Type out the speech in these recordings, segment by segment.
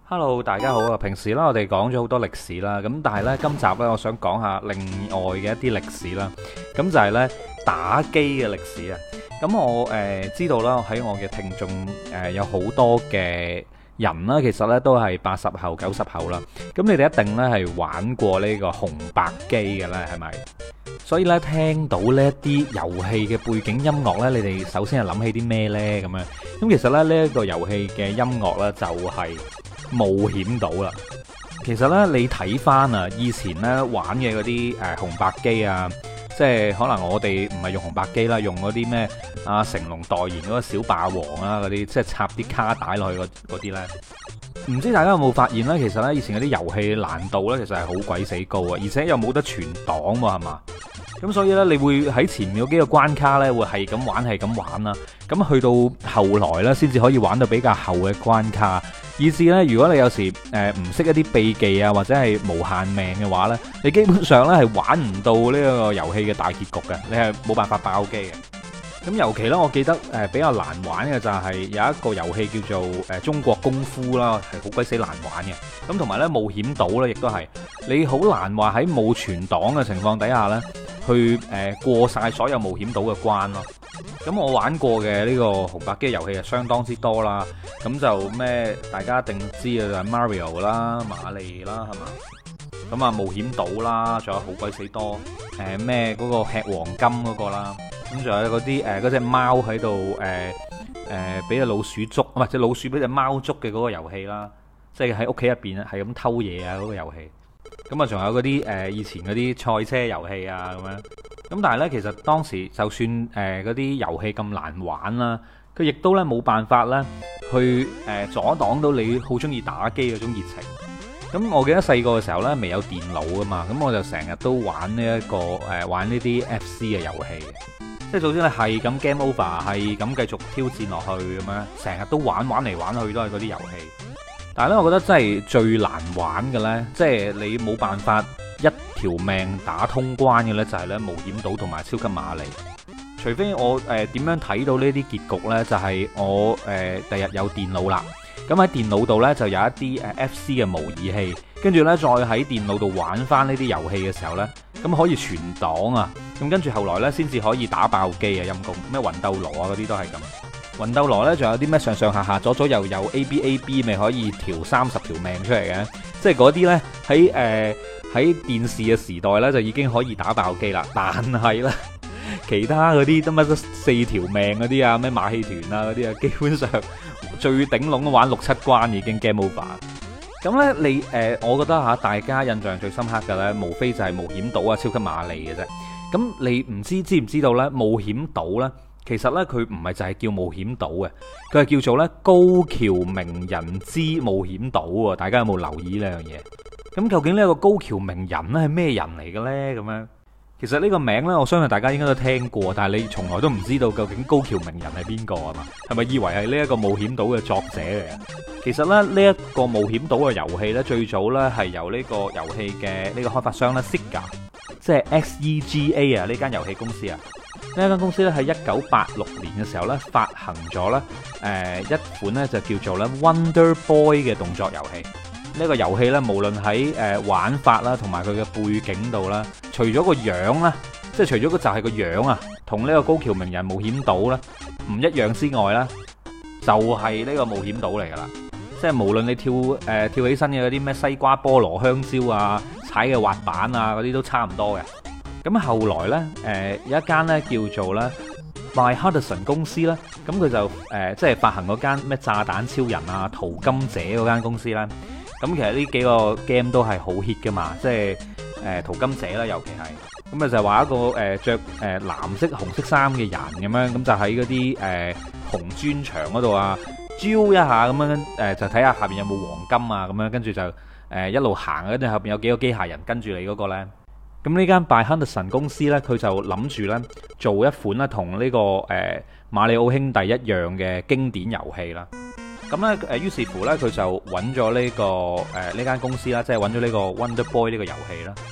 Hello，大家好啊！平時咧我哋講咗好多歷史啦，咁但係呢，今集呢，我想講下另外嘅一啲歷史啦。咁就係呢打機嘅歷史啊。咁我知道啦，喺我嘅聽眾有好多嘅人啦，其實呢都係80後、90後啦。咁你哋一定呢係玩過呢個紅白機嘅啦，係咪？所以呢，聽到呢一啲遊戲嘅背景音樂呢，你哋首先係諗起啲咩呢？咁樣咁其實呢，呢一個遊戲嘅音樂呢，就係冒險島啦。其實呢，你睇翻啊，以前呢玩嘅嗰啲紅白機啊，即係可能我哋唔係用紅白機啦，用嗰啲咩啊成龍代言嗰個小霸王啊嗰啲，即係插啲卡帶落去嗰啲呢。唔知大家有冇發現呢？其實呢，以前嗰啲遊戲難度呢，其實係好鬼死高啊，而且又冇得存檔喎，係嘛？咁所以呢，你會喺前面嗰幾個關卡呢，會係咁玩係咁玩啦。咁去到後來呢，先至可以玩到比較後嘅關卡。以至呢，如果你有時唔識一啲秘技啊，或者係無限命嘅話呢，你基本上呢係玩唔到呢個遊戲嘅大結局嘅，你係冇辦法爆機嘅。咁尤其呢，我記得比較難玩嘅就係有一個遊戲叫做中國功夫啦，係好鬼死難玩嘅。咁同埋呢，冒險島呢，亦都係你好難話喺冇存檔嘅情況底下呢，去過晒所有冒險島嘅關咯。咁我玩過嘅呢個紅白機遊戲係相當之多啦。咁就咩大家一定知嘅就係 Mario 啦、馬利啦，係嘛？咁啊冒險島啦，仲有好鬼死多咩嗰個吃黃金嗰個啦。咁仲有嗰啲嗰隻貓喺度俾隻老鼠捉，唔係隻老鼠俾隻貓捉嘅嗰個遊戲啦。即係喺屋企入邊係咁偷嘢啊嗰個遊戲。咁啊仲有嗰啲以前嗰啲賽車遊戲啊咁樣。咁但係呢，其實當時就算嗰啲遊戲咁難玩啦，佢亦都呢冇辦法呢去阻擋到你好中意打機嗰種熱情。咁我記得細個嘅時候呢，未有電腦噶嘛，咁我就成日都玩呢玩呢啲 FC 嘅遊戲，即係總之你係咁 game over，係咁繼續挑戰落去咁樣，成日都玩嚟玩去都係嗰啲遊戲。但係呢，我覺得真係最難玩嘅呢，即係你冇辦法一條命打通關嘅呢，就係呢冒險島同埋超級瑪麗。除非我點樣睇到呢啲結局呢？就係我第日有電腦啦，咁喺電腦度呢，就有一啲FC 嘅模擬器，跟住呢，再喺電腦度玩翻呢啲遊戲嘅時候呢，咁可以存檔啊，咁跟住後來呢，先至可以打爆機啊，陰公咩魂鬥羅啊嗰啲都係咁。魂鬥羅呢，仲有啲咩上上下下左左右右 AB 咪可以調30條命出嚟嘅，即係嗰啲呢，喺電視嘅時代呢，就已經可以打爆機啦，但係呢，其他嗰啲得乜得4條命嗰啲啊，咩馬戲團啊嗰啲啊，基本上最頂籠都玩6-7關已經 game over。咁呢，你我覺得大家印象最深刻嘅呢，無非就係冒險島啊、超級瑪麗嘅啫。咁你唔知唔知道呢？冒險島呢，其實呢，佢唔係就係叫冒險島嘅，佢係叫做呢高橋名人之冒險島喎。大家有冇留意呢樣嘢？咁究竟呢個高橋名人呢係咩人嚟嘅呢？咁樣其實呢個名呢，我相信大家應該都聽過，但係你從來都唔知道究竟高橋名人係邊個啊嘛？係咪以為係呢一個冒險島嘅作者嚟嘅？其實咧呢一個冒險島嘅遊戲呢，最早呢係由呢個遊戲嘅呢個開發商呢 Sega， 即係 XEGA 啊呢間遊戲公司啊。呢間公司咧喺1986年嘅時候咧發行咗咧一款咧就叫做咧 Wonder Boy 嘅動作遊戲。呢個遊戲咧無論喺玩法啦同埋佢嘅背景度啦，除咗個樣啦，即係除咗個就係個樣啊，同呢個高橋名人冒險島咧唔一樣之外啦，就係呢個冒險島嚟噶啦。即係無論你跳起身嘅嗰啲咩西瓜菠蘿香蕉啊，踩嘅滑板啊嗰啲都差唔多嘅。咁後來呢，有一間呢叫做呢 By Hudson 公司啦，咁佢就即係發行嗰間咩炸彈超人啊、淘金者嗰間公司啦。咁其實呢幾個 game 都係好 hit 噶嘛，即係淘金者啦，尤其係咁啊，就係話一個着藍色紅色衫嘅人咁樣，咁就喺嗰啲紅磚牆嗰度啊，招一下咁樣就睇下下邊有冇黃金啊，咁樣跟住就一路行，跟住後邊有幾個機械人跟住你嗰個呢。咁呢間 By Hudson 公司呢，佢就諗住呢做一款呢同呢個馬里奧兄弟一樣嘅經典遊戲啦。咁呢，於是乎呢，佢就揾咗呢個呢間公司啦，即係揾咗呢個 Wonder Boy 呢個遊戲啦。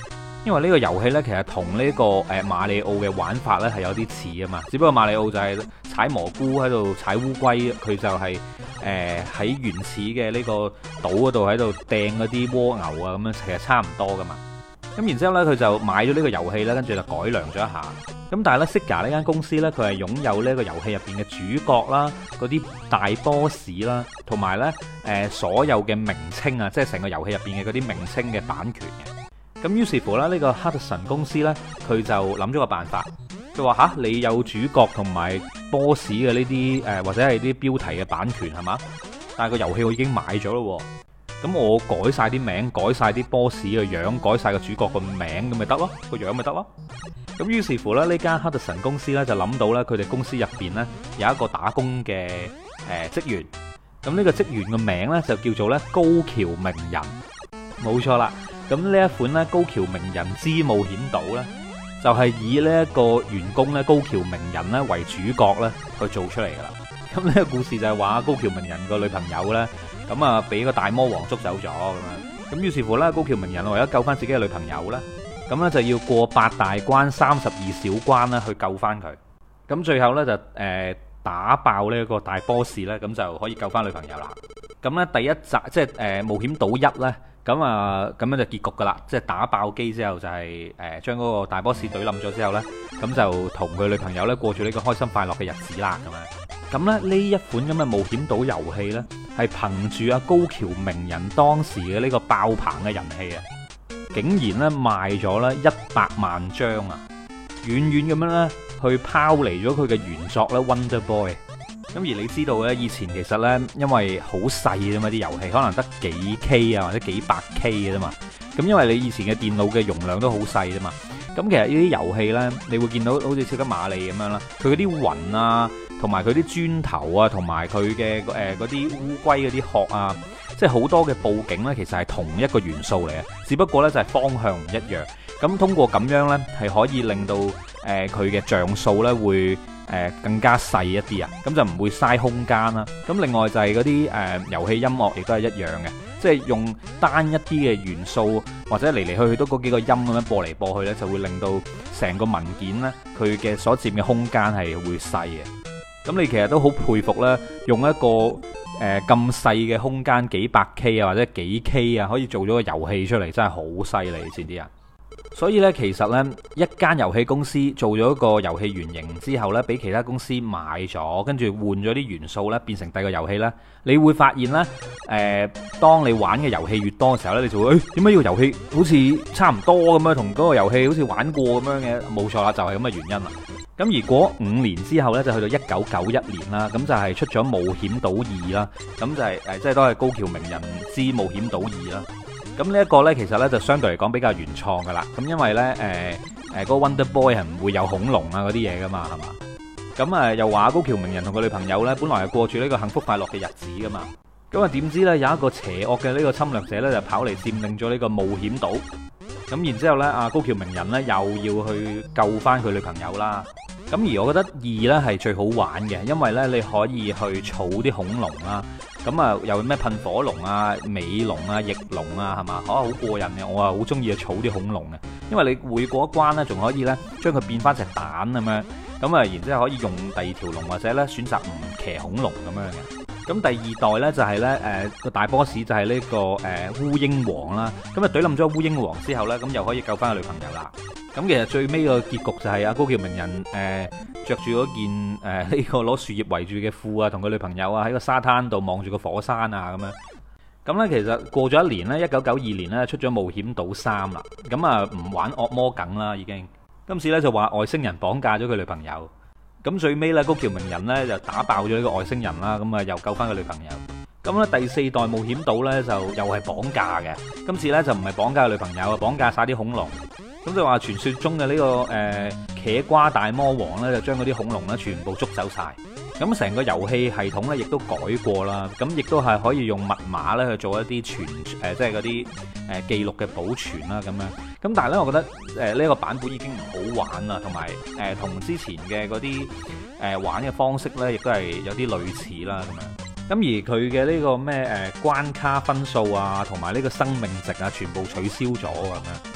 因為呢個遊戲呢，其實同呢個馬里奧嘅玩法呢係有啲似啊嘛，只不過馬里奧就係踩蘑菇喺度踩烏龜，佢就係喺原始嘅呢個島嗰度喺度掟嗰啲蝸牛啊，咁樣其實差唔多噶嘛。咁然之後呢，佢就買咗呢個遊戲呢，跟住就改良咗一下。咁但係呢 Sega 呢間公司呢，佢係擁有呢個遊戲入邊嘅主角啦，嗰啲大 boss 啦，同埋呢所有嘅名稱啊，即係成個遊戲入邊嘅嗰啲名稱嘅版權嘅。咁於是乎咧，呢個哈德臣公司呢，佢就諗咗個辦法，佢話吓，你有主角同埋 boss 嘅呢啲或者係啲標題嘅版權係嘛？但係個遊戲我已經買咗咯，咁我改晒啲名，改晒啲 boss 嘅樣，改晒個主角個名，咁咪得咯，個樣咪得咯。咁於是乎咧，呢間哈德臣公司呢，就諗到呢，佢哋公司入邊呢，有一個打工嘅職員，咁呢個職員嘅名呢，就叫做呢高橋名人，冇錯啦。咁呢一款咧高橋名人之冒險島呢，就係以呢一個員工咧高橋名人咧為主角咧去做出嚟噶啦。咁呢個故事就係話高橋名人個女朋友呢，咁啊俾個大魔王捉走咗咁樣。咁於是乎呢，高橋名人為咗救翻自己嘅女朋友呢，咁呢就要過8大關32小關啦去救翻佢。咁最後呢，就打爆呢個大 boss 呢，咁就可以救翻女朋友啦。咁呢第一集即係冒險島1呢。咁啊，咁樣就結局噶啦，即係打爆機之後就係將嗰個大 boss 隊冧咗之後呢，咁就同佢女朋友呢過住呢個開心快樂嘅日子啦，咁樣。咁咧呢一款咁嘅冒險島遊戲呢，係憑住阿高橋名人當時嘅呢個爆棚嘅人氣啊，竟然呢賣咗呢100萬張啊，遠遠咁樣呢去拋離咗佢嘅原作呢 Wonder Boy。咁而你知道呢，以前其實呢，因為好細啫嘛，啲遊戲可能得幾 K 啊或者幾百 K 嘅啫嘛。咁因為你以前嘅電腦嘅容量都好細啫嘛。咁其實呢啲遊戲呢，你會見到好似超級瑪麗咁樣啦，佢嗰啲雲啊，同埋佢啲磚頭啊，同埋佢嘅嗰啲烏龜嗰啲殼啊，即係好多嘅佈景呢，其實係同一個元素嚟嘅，只不過呢就係方向唔一樣。咁通過咁樣呢，係可以令到佢嘅像素呢會更加細一啲啊，咁就唔會嘥空間啦。咁另外就係嗰啲遊戲音樂亦都係一樣嘅，即係用單一啲嘅元素或者嚟嚟去去都嗰幾個音咁樣播嚟播去呢，就會令到成個文件呢，佢嘅所佔嘅空間係會細嘅。咁你其實都好佩服啦，用一個咁細嘅空間幾百 K 啊或者幾 K 啊，可以做咗個遊戲出嚟，真係好犀利，知唔知啊？所以咧，其實咧，一間遊戲公司做咗一個遊戲原型之後咧，俾其他公司買咗，跟住換咗啲元素咧，變成第二個遊戲咧，你會發現咧，當你玩嘅遊戲越多嘅時候咧，你就會點解呢個遊戲好似差唔多咁樣，同嗰個遊戲好似玩過咁樣嘅？冇錯啦，就係咁嘅原因啦。咁而過5年之後咧，就去到1991年啦，咁就係出咗冒險島2啦，咁就係即係都係高橋名人之冒險島2啦。咁呢一個呢，其實呢就相對嚟講比較原創噶啦。咁因為呢，嗰個 Wonder Boy 係唔會有恐龍啊嗰啲嘢噶嘛，係嘛？咁又話高橋名人同佢女朋友呢，本來係過住呢個幸福快樂嘅日子噶嘛。咁啊點知呢，有一個邪惡嘅呢個侵略者呢，就跑嚟佔領咗呢個冒險島。咁然之後呢，阿高橋名人呢，又要去救翻佢女朋友啦。咁而我覺得2呢係最好玩嘅，因為呢，你可以去儲啲恐龍啦。咁啊，又咩噴火龍啊、尾龍啊、翼龍啊，係嘛？好過癮嘅，我啊好中意儲啲恐龍嘅，因為你每過一關呢，仲可以呢將佢變翻隻蛋咁樣，咁啊，然之後可以用第二條龍或者呢選擇唔騎恐龍咁樣嘅。咁第2代呢，就係呢個大 boss 就係呢個烏鷹王啦。咁啊，懟冧咗烏鷹王之後呢，咁又可以救翻個女朋友啦。咁其實最尾個結局就係阿高橋名人着住嗰件呢個攞樹葉圍住嘅褲啊，同佢女朋友啊喺個沙灘度望住個火山啊咁樣。咁呢，其實過咗1年呢，1992年呢出咗冒險島3啦。咁啊唔玩惡魔梗啦已經，今次呢，就話外星人綁架咗佢女朋友。咁最尾呢，高橋名人呢就打爆咗呢個外星人啦，咁啊又救翻佢女朋友。咁咧第4代冒險島呢，就又係綁架嘅，今次呢，就唔係綁架佢女朋友，綁架晒啲恐龍。咁就話傳說中嘅呢個茄瓜大魔王呢，就將嗰啲恐龍呢全部捉走晒。咁成個遊戲系統呢，亦都改過啦。咁亦都係可以用密碼呢去做一啲即係嗰啲記錄嘅保存啦咁樣。咁但係呢，我覺得呢個版本已經唔好玩啦，同埋同之前嘅嗰啲玩嘅方式呢，亦都係有啲類似啦咁樣。咁而佢嘅呢個咩關卡分數啊，同埋呢個生命值啊，全部取消咗咁樣。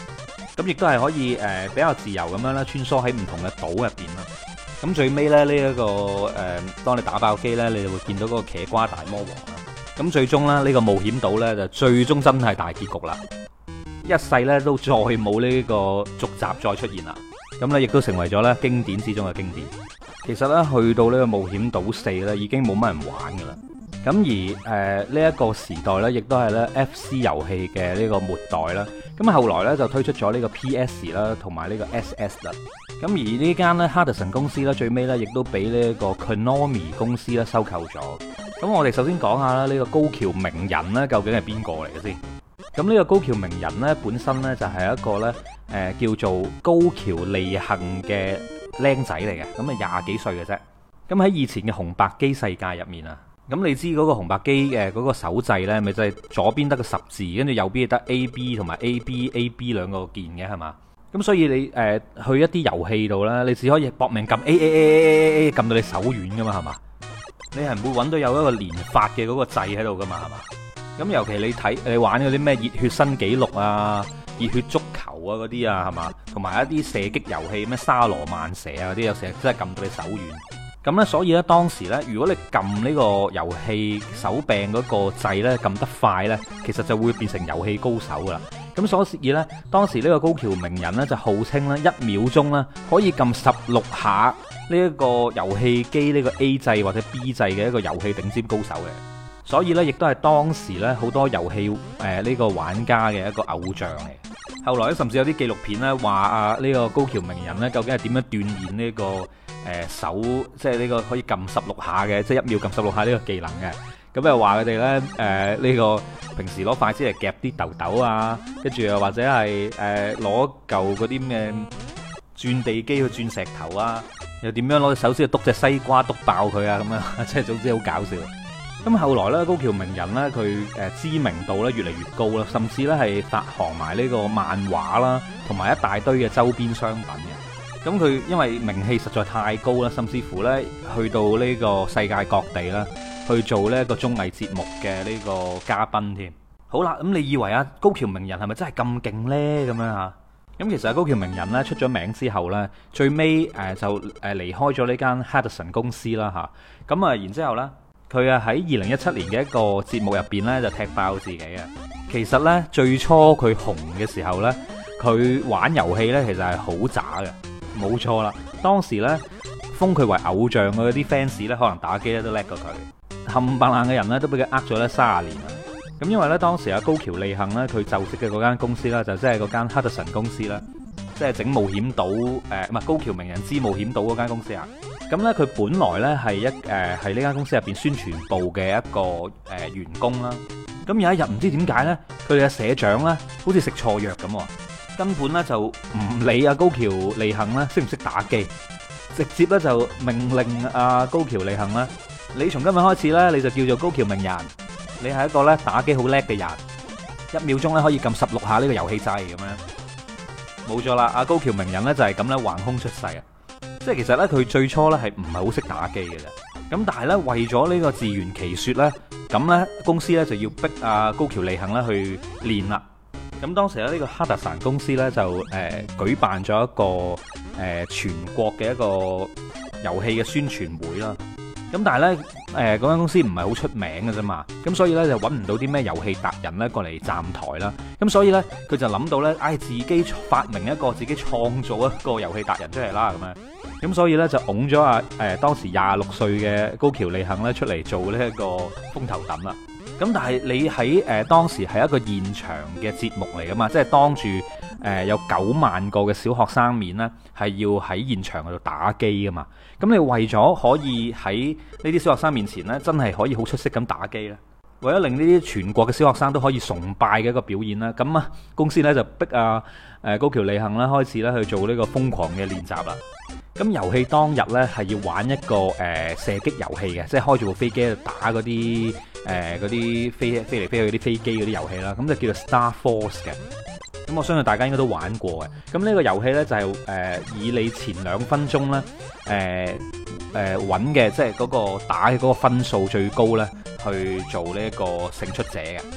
咁亦都係可以比較自由咁樣啦，穿梭喺唔同嘅島入邊啦。咁最尾咧呢一個當你打爆機呢，你就會見到嗰個茄瓜大魔王啦。咁最終咧呢個冒險島呢，就最終真係大結局啦，一世呢都再冇呢個續集再出現啦。咁呢亦都成為咗呢經典之中嘅經典。其實呢，去到呢個冒險島4呢，已經冇乜人玩噶啦。咁而呢一個時代呢，亦都係呢 FC 遊戲嘅呢個末代啦。咁後來呢，就推出咗呢個 PS 啦，同埋呢個 SS 啦。咁而呢間呢 Hudson 公司呢，最尾呢亦都俾呢個 Konami 公司呢收購咗。咁我哋首先講下啦，呢個高橋名人呢，究竟係邊個嚟嘅先？咁呢個高橋名人呢，本身呢就係一個呢叫做高橋利幸嘅僆仔嚟嘅，咁啊廿幾歲嘅啫。咁喺以前嘅紅白機世界入面啊，咁你知嗰個紅白機嘅嗰個手掣呢，咪就係左邊得個十字，跟住右邊得 AB 同埋 AB 兩個鍵嘅係嘛？咁所以你去一啲遊戲度呢，你只可以搏命撳 A 撳到你手軟噶嘛係嘛？你係唔會揾到有一個連發嘅嗰個掣喺度噶嘛係嘛？咁尤其你玩嗰啲咩熱血新紀錄啊、熱血足球啊嗰啲啊係嘛？同埋一啲射擊遊戲咩沙羅曼蛇啊嗰啲，有時真係撳到你手軟。咁呢，所以呢，當時呢，如果你撳呢個遊戲手柄嗰個掣呢，撳得快呢，其實就會變成遊戲高手噶啦。咁所以呢，當時呢個高橋名人呢，就號稱呢1秒鐘呢可以撳16下呢一個遊戲機呢個 A 掣或者 B 掣嘅一個遊戲頂尖高手嘅。所以呢，亦都係當時呢好多遊戲呢個玩家嘅一個偶像嚟。後來甚至有啲紀錄片呢話啊，呢個高橋名人呢究竟係點樣鍛鍊呢個手，即係呢個可以撳16下嘅，即係1秒撳16下呢個技能嘅。咁又話佢哋呢呢個平時攞筷子嚟夾啲豆豆啊，跟住又或者係攞嚿嗰啲咩轉地機去轉石頭啊，又點樣攞隻手指去篤隻西瓜篤爆佢啊咁樣，即係總之好搞笑。咁後來咧，高橋名人咧，佢知名度咧越嚟越高啦，甚至咧係發行埋呢個漫畫啦，同埋一大堆嘅周邊商品嘅。咁佢因為名氣實在太高啦，甚至乎咧去到呢個世界各地啦，去做呢一個綜藝節目嘅呢個嘉賓添。好啦，咁你以為啊高橋名人係咪真係咁勁呢？咁樣嚇？咁其實高橋名人咧出咗名之後咧，最尾就離開咗呢間 Hudson 公司啦嚇。咁啊，然之後咧。佢啊喺2017年嘅一個節目入邊咧就踢爆自己啊！其實呢，最初佢紅嘅時候呢，佢玩遊戲呢其實係好渣嘅，冇錯啦。當時呢，封佢為偶像嘅嗰啲 fans 呢，可能打機咧都叻過佢，冚唪唥嘅人呢，都俾佢呃咗呢30年啦。咁因為呢，當時阿高橋利幸呢，佢就職嘅嗰間公司啦，就即係嗰間 Hudson 公司啦，即係整冒險島唔係高橋名人之冒險島嗰間公司啊。咁呢，佢本來呢係係呢間公司入邊宣傳部嘅一個員工啦。咁有一日唔知點解呢，佢哋嘅社長呢好似食錯藥咁，根本呢就唔理阿高橋利幸呢識唔識打機，直接呢就命令阿高橋利幸呢：「你從今日開始呢，你就叫做高橋名人，你係一個呢打機好叻嘅人，1秒鐘呢可以撳16下呢個遊戲掣咁樣。」冇錯啦，阿高橋名人呢就係咁呢橫空出世啊！即係其實咧，佢最初咧係唔係好識打機嘅啫。咁但係咧，為咗呢個自圓其說咧，咁咧公司咧就要逼阿高橋利幸咧去練啦。咁當時咧呢個哈特臣公司咧就舉辦咗一個全國嘅一個遊戲嘅宣傳會啦。咁但係咧嗰間公司唔係好出名嘅啫嘛。咁所以咧就揾唔到啲咩遊戲達人咧過嚟站台啦。咁所以咧佢就諗到咧，自己發明一個自己創造一個遊戲達人出嚟啦咁樣。咁所以咧就拱咗當時26歲嘅高橋利幸咧出嚟做呢一個風頭躉啦。咁但係你喺當時係一個現場嘅節目嚟噶嘛，即係當住有9萬個嘅小學生面呢，係要喺現場嗰度打機噶嘛。咁你為咗可以喺呢啲小學生面前呢，真係可以好出色咁打機呢，為咗令呢啲全國嘅小學生都可以崇拜嘅一個表演啦，咁啊公司呢就逼高橋利幸啦開始咧去做呢個瘋狂嘅練習啦。咁遊戲當日呢，係要玩一個射擊遊戲嘅，即係開住部飛機打嗰啲飛嚟飛去嗰啲飛機嗰啲遊戲啦，咁就叫做 Star Force 嘅。咁我相信大家應該都玩過嘅。咁呢個遊戲呢，就係以你前2分鐘呢揾嘅，即係嗰個打嘅嗰個分數最高呢，去做呢一個勝出者嘅。咁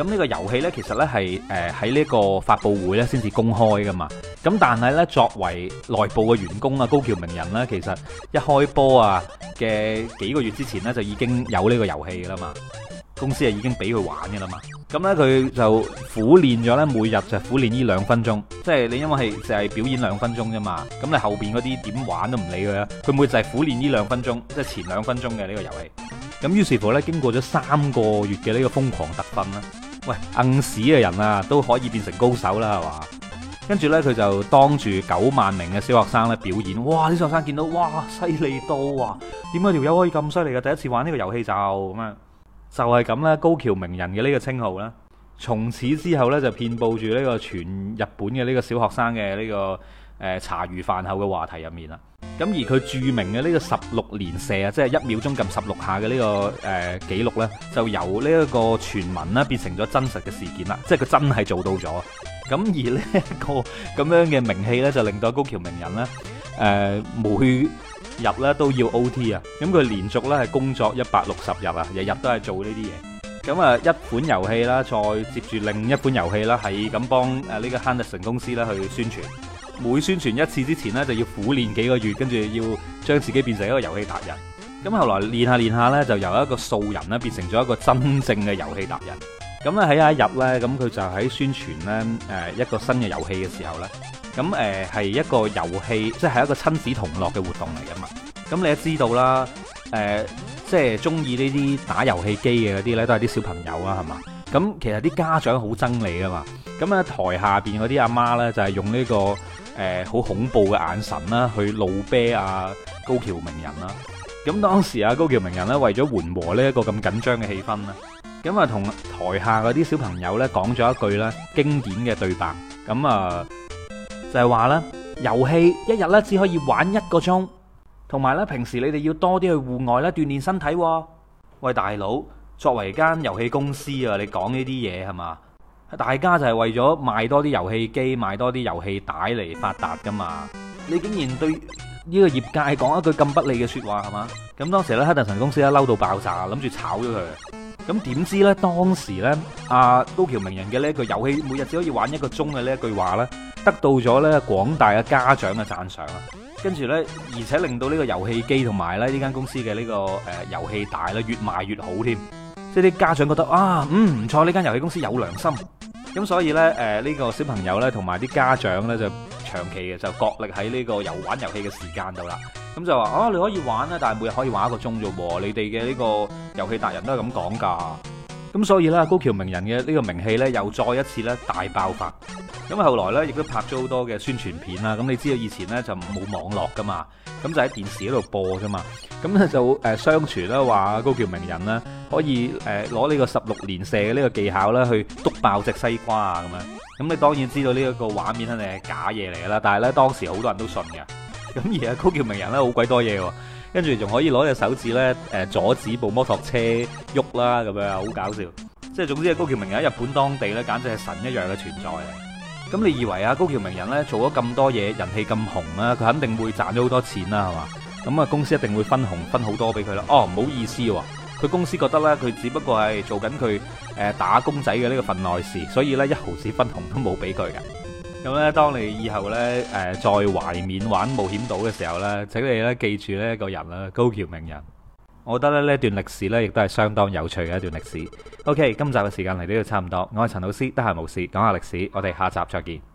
咁呢個遊戲呢，其實呢係喺呢個發佈會呢先至公開噶嘛。咁但係呢，作為內部嘅員工啊，高橋名人呢，其實一開波啊嘅幾個月之前呢，就已經有呢個遊戲噶啦嘛。公司已經俾佢玩嘅啦嘛。咁呢，佢就苦練咗呢，每日就苦練呢2分鐘。即係你因為係就係表演2分鐘啫嘛。咁你後邊嗰啲點玩都唔理佢啦。佢每日就係苦練呢2分鐘，即係前2分鐘嘅呢個遊戲。咁於是乎呢，經過咗3個月嘅呢個瘋狂特訓啦，喂，硬屎嘅人啊都可以變成高手啦，係嘛？跟住呢，佢就當住9萬名嘅小學生咧表演，哇！啲小學生見到，哇，犀利到啊！點解條友可以咁犀利嘅？第一次玩呢個遊戲就咁樣，就係咁啦。高橋名人嘅呢個稱號啦，從此之後呢，就遍佈住呢個全日本嘅呢個小學生嘅呢個茶餘飯後嘅話題入面啦。咁而佢著名嘅呢個16連射啊，即係1秒鐘撳16下嘅呢個紀錄呢，就由呢一個傳聞啦變成咗真實嘅事件啦，即係佢真係做到咗。咁而呢一個咁樣嘅名氣呢，就令到高橋名人呢，每日呢都要 OT 啊。咁佢連續呢係工作160日啊，日日都係做呢啲嘢。咁啊，一款遊戲啦，再接住另一款遊戲啦，係咁幫呢個 Henderson 公司啦去宣傳。每宣傳一次之前呢，就要苦練幾個月，跟住要將自己變成一個遊戲達人。咁後來練下練下呢，就由一個素人呢變成咗一個真正嘅遊戲達人。咁咧喺有一日呢，咁佢就喺宣傳呢一個新嘅遊戲嘅時候呢，咁係一個遊戲，即係一個親子同樂嘅活動嚟噶嘛。咁你都知道啦，即係中意呢啲打遊戲機嘅嗰啲呢，都係啲小朋友啦，係嘛？咁其實啲家長好憎你噶嘛。咁咧台下邊嗰啲阿媽呢，就係用呢個好恐怖嘅眼神啦，去怒啤啊高橋名人啦。咁當時啊高橋名人呢，為咗緩和呢一個咁緊張嘅氣氛啦，咁啊同台下嗰啲小朋友呢講咗一句咧經典嘅對白。咁啊就係話咧，遊戲一日呢只可以玩1個鐘，同埋呢平時你哋要多啲去戶外咧鍛煉身體。喂大佬，作為間遊戲公司啊，你講呢啲嘢係嘛？大家就係為咗賣多啲遊戲機，賣多啲遊戲帶嚟發達噶嘛？你竟然對呢個業界講一句咁不利嘅說話係嘛？咁當時咧，黑特神公司咧嬲到爆炸，諗住炒咗佢。咁點知呢？當時呢，阿高橋名人嘅呢一句遊戲每日只可以玩1個鐘嘅呢一句話呢，得到咗呢廣大嘅家長嘅讚賞啦。跟住呢，而且令到呢個遊戲機同埋咧呢間公司嘅呢個遊戲帶咧越賣越好添。即係啲家長覺得啊，唔錯，呢間遊戲公司有良心。咁所以呢，呢個小朋友呢，同埋啲家長呢，就長期嘅就角力喺呢個玩遊戲嘅時間度啦。咁就話你可以玩啦，但係每日可以玩1個鐘啫喎。你哋嘅呢個遊戲達人都係咁講㗎。咁所以呢，高橋名人嘅呢個名氣呢，又再一次呢大爆發。咁後來呢，亦都拍咗好多嘅宣傳片啦。咁你知道以前呢，就冇網絡㗎嘛，咁就喺電視嗰度播啫嘛。咁咧就相傳啦，話高橋名人呢，可以攞呢個16連射嘅呢個技巧呢，去篤爆隻西瓜啊咁樣。咁你當然知道呢一個畫面肯定係假嘢嚟㗎啦。但係呢，當時好多人都信嘅。咁而家高橋名人呢，好鬼多嘢喎，跟住仲可以攞隻手指呢，阻止部摩托車喐啦，咁樣好搞笑。即係總之，高橋名人喺日本當地呢，簡直係神一樣嘅存在嚟。咁你以為高橋名人呢，做咗咁多嘢，人氣咁紅啦，佢肯定會賺咗好多錢啦，係嘛？咁啊，公司一定會分紅分好多俾佢啦。唔好意思喎，佢公司覺得呢，佢只不過係做緊佢打工仔嘅呢個份內事，所以呢，1毫子分紅都冇俾佢嘅。咁咧，當你以後呢，再懷緬玩冒險島嘅時候呢，請你呢記住呢一個人啦，高橋名人。我覺得咧呢段歷史呢，亦都係相當有趣嘅一段歷史。OK，今集嘅時間嚟到呢度差唔多，我係陳老師，得閒無事講下歷史，我哋下集再見。